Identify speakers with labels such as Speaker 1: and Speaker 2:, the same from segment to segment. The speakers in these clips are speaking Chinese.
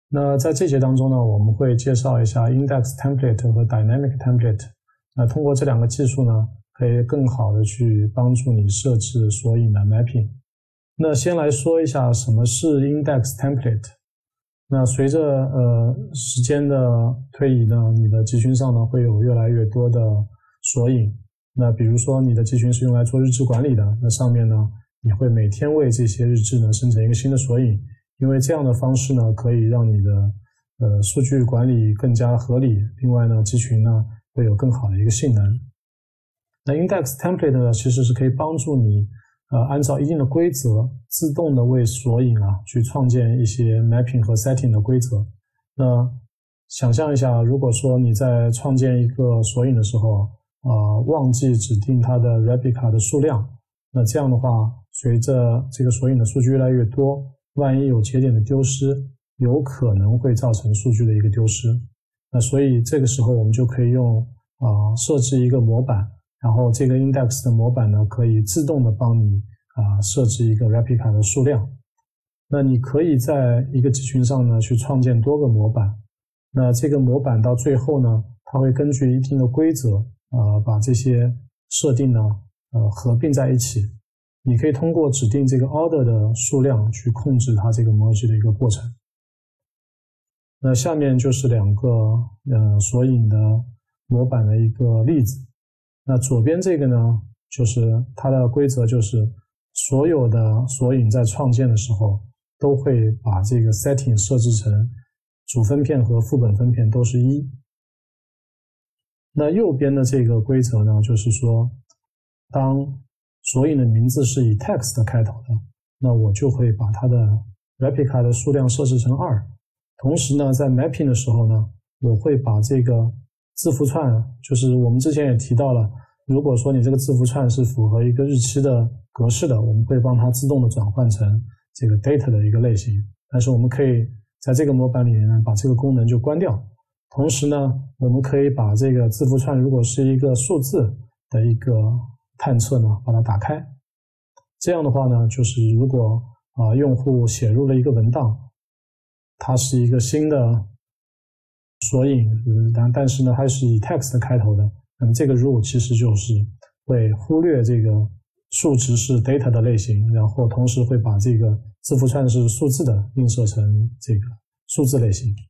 Speaker 1: 那在这节当中呢，我们会介绍一下 Index Template 和 Dynamic Template。那通过这两个技术呢，可以更好的去帮助你设置索引的 mapping。那先来说一下什么是 Index Template。那随着时间的推移呢，你的集群上呢会有越来越多的索引。那比如说你的集群是用来做日志管理的，那上面呢你会每天为这些日志呢生成一个新的索引，因为这样的方式呢可以让你的数据管理更加合理。另外呢，集群呢会有更好的一个性能。那 Index Template 呢其实是可以帮助你按照一定的规则自动的为索引去创建一些 mapping 和 setting 的规则。那想象一下，如果说你在创建一个索引的时候忘记指定它的 replica 的数量，那这样的话，随着这个索引的数据越来越多，万一有节点的丢失，有可能会造成数据的一个丢失。那所以这个时候我们就可以用设置一个模板，然后这个 index 的模板呢可以自动的帮你设置一个 replica 的数量。那你可以在一个集群上呢去创建多个模板，那这个模板到最后呢，它会根据一定的规则把这些设定呢合并在一起。你可以通过指定这个 order 的数量去控制它这个 merge 的一个过程。那下面就是两个索引的模板的一个例子。那左边这个呢，就是它的规则就是所有的索引在创建的时候都会把这个 setting 设置成主分片和副本分片都是1。那右边的这个规则呢，就是说当索引的名字是以 text 开头的，那我就会把它的 replica 的数量设置成2。同时呢，在 mapping 的时候呢，我会把这个字符串，就是我们之前也提到了，如果说你这个字符串是符合一个日期的格式的，我们会帮它自动的转换成这个 date 的一个类型。但是我们可以在这个模板里面呢，把这个功能就关掉。同时呢，我们可以把这个字符串如果是一个数字的一个探测呢，把它打开。这样的话呢，就是如果用户写入了一个文档，它是一个新的索引，但是呢，它是以 text 开头的，那么这个 rule 其实就是会忽略这个数值是 data 的类型，然后同时会把这个字符串是数字的映射成这个数字类型。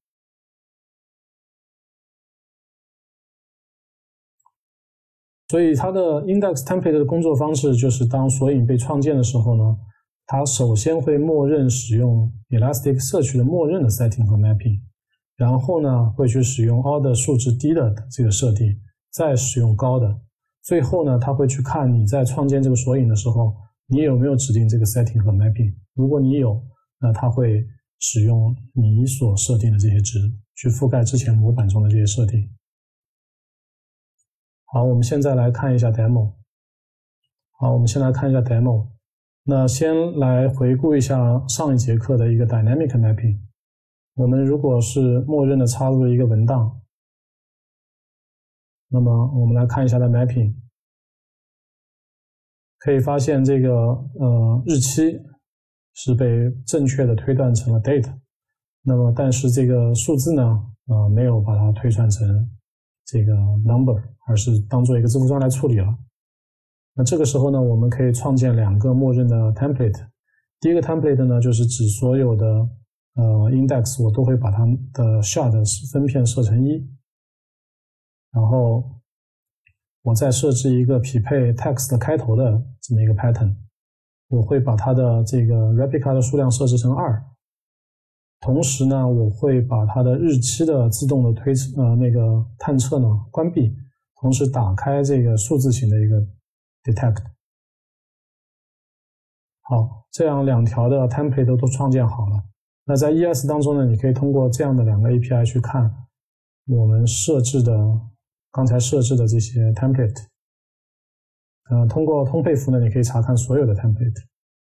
Speaker 1: 所以它的 index template 的工作方式就是当索引被创建的时候呢，它首先会默认使用 Elasticsearch 的默认的 setting 和 mapping， 然后呢会去使用 order 数值低的这个设定，再使用高的，最后呢它会去看你在创建这个索引的时候，你有没有指定这个 setting 和 mapping。 如果你有，那它会使用你所设定的这些值去覆盖之前模板中的这些设定。好，我们现在来看一下 demo。 好，我们先来看一下 demo。 那先来回顾一下上一节课的一个 dynamic mapping。 我们如果是默认的插入了一个文档，那么我们来看一下它的 mapping， 可以发现这个日期是被正确的推断成了 date， 那么但是这个数字呢没有把它推算成这个 number， 而是当做一个字符串来处理了。那这个时候呢，我们可以创建2个默认的 template。 第一个 template 呢，就是指所有的index 我都会把它的 shard 分片设成1，然后我再设置一个匹配 text 开头的这么一个 pattern， 我会把它的这个 replica 的数量设置成2，同时呢，我会把它的日期的自动的那个探测呢关闭，同时打开这个数字型的一个 detect。 好，这样2条的 template 都创建好了。那在 ES 当中呢，你可以通过这样的2个 API 去看我们刚才设置的这些 template。通过通配符呢，你可以查看所有的 template。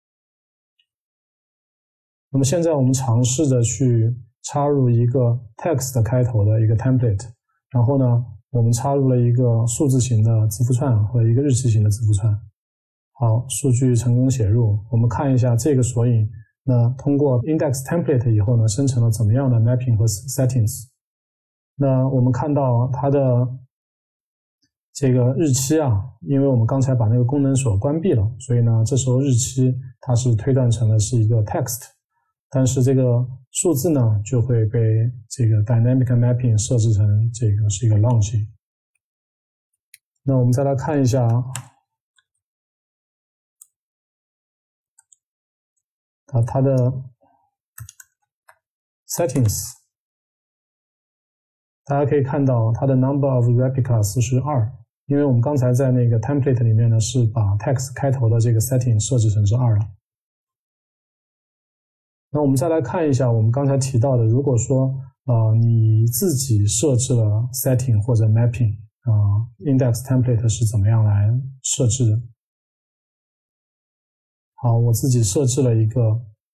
Speaker 1: 那么现在我们尝试着去插入一个 text 开头的一个 template， 然后呢，我们插入了一个数字型的字符串和一个日期型的字符串。好，数据成功写入。我们看一下这个索引那通过 index template 以后呢，生成了怎么样的 mapping 和 settings。那我们看到它的这个日期啊，因为我们刚才把那个功能锁关闭了，所以呢，这时候日期它是推断成了是一个 text， 但是这个数字呢就会被这个 dynamic mapping 设置成这个是一个 long。那我们再来看一下它的 settings， 大家可以看到它的 number of replicas 是2，因为我们刚才在那个 template 里面呢是把 text 开头的这个 setting 设置成是2了。那我们再来看一下我们刚才提到的，如果说你自己设置了 setting 或者 mapping， index template 是怎么样来设置的。好，我自己设置了一个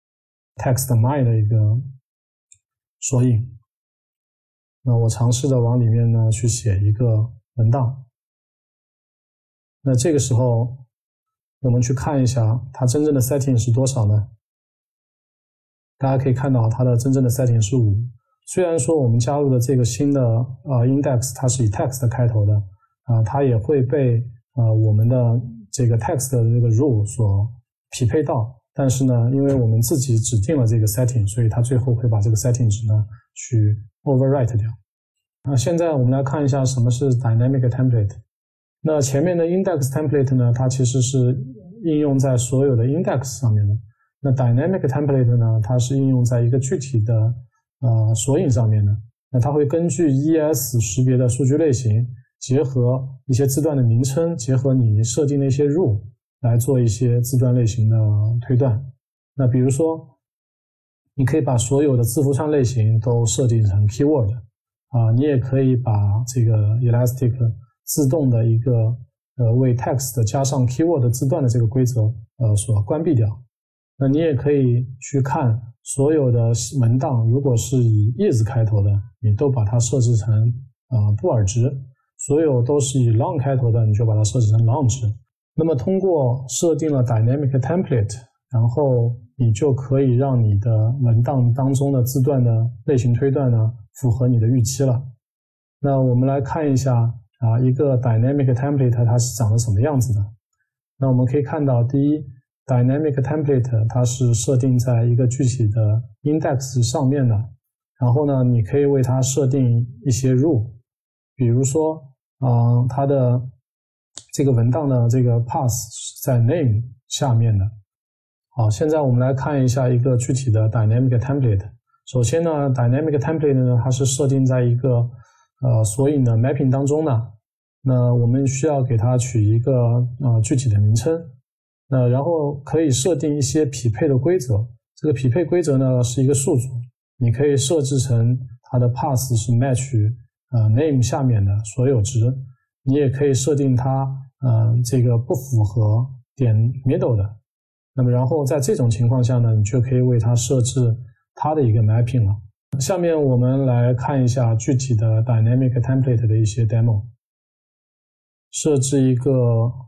Speaker 1: text_my 的一个索引。那我尝试的往里面呢去写一个文档。那这个时候我们去看一下它真正的 setting 是多少呢？大家可以看到它的真正的 setting 是5。虽然说我们加入的这个新的index 它是以 text 开头的，它也会被我们的这个 text 的这个 rule 所匹配到，但是呢，因为我们自己指定了这个 setting， 所以它最后会把这个 setting 值呢去 overwrite 掉。现在我们来看一下什么是 dynamic template。那前面的 index template 呢，它其实是应用在所有的 index 上面的。那 dynamic template 呢，它是应用在一个具体的索引上面的。那它会根据 ES 识别的数据类型，结合一些字段的名称，结合你设定的一些 rule 来做一些字段类型的推断。那比如说，你可以把所有的字符串类型都设定成 keyword，你也可以把这个 Elastic 自动的一个为 text 加上 keyword 字段的这个规则所关闭掉。那你也可以去看所有的文档，如果是以 is 开头的，你都把它设置成布尔值；所有都是以 long 开头的，你就把它设置成 long 值。那么通过设定了 dynamic template， 然后你就可以让你的文档当中的字段的类型推断呢符合你的预期了。那我们来看一下一个 dynamic template 它是长得什么样子的。那我们可以看到，第一， dynamic template 它是设定在一个具体的 index 上面的，然后呢，你可以为它设定一些 rule， 比如说它的这个文档的这个 path 是在 name 下面的。好，现在我们来看一下一个具体的 dynamic template。首先呢 dynamic template 呢，它是设定在一个索引的 mapping 当中的。那我们需要给它取一个具体的名称。那然后可以设定一些匹配的规则。这个匹配规则呢是一个数组，你可以设置成它的 path 是 match name 下面的所有值。你也可以设定它这个不符合点 middle 的。那么然后在这种情况下呢，你就可以为它设置它的一个 mapping 了。下面我们来看一下具体的 dynamic template 的一些 demo。设置一个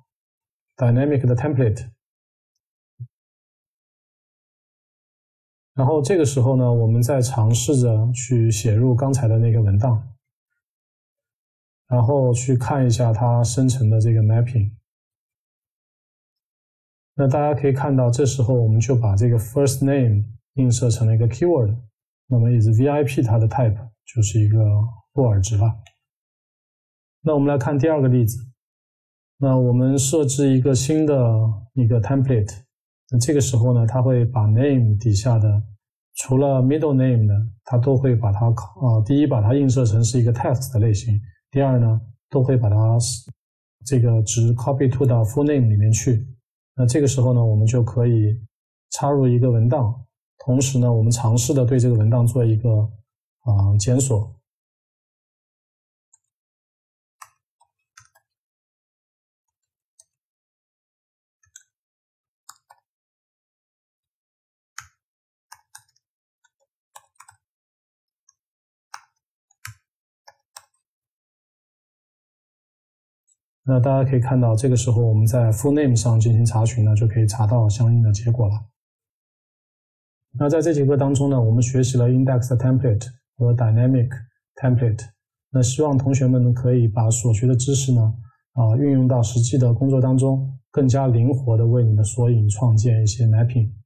Speaker 1: dynamic 的 template， 然后这个时候呢，我们再尝试着去写入刚才的那个文档，然后去看一下它生成的这个 mapping。那大家可以看到，这时候我们就把这个 first name 映射成了一个 keyword， 那么 is VIP 它的 type 就是一个布尔值了。那我们来看第二个例子。那我们设置一个新的一个 template， 那这个时候呢，它会把 name 底下的除了 middle name 的，它都会把它第一把它映射成是一个 text 的类型，第二呢，都会把它这个值 copy to 到 full name 里面去。那这个时候呢，我们就可以插入一个文档，同时呢，我们尝试的对这个文档做一个检索。那大家可以看到，这个时候我们在 full name 上进行查询呢，就可以查到相应的结果了。 那在这节课当中呢，我们学习了 index template 和 dynamic template。那希望同学们可以把所学的知识呢，运用到实际的工作当中，更加灵活的为你的索引创建一些 mapping。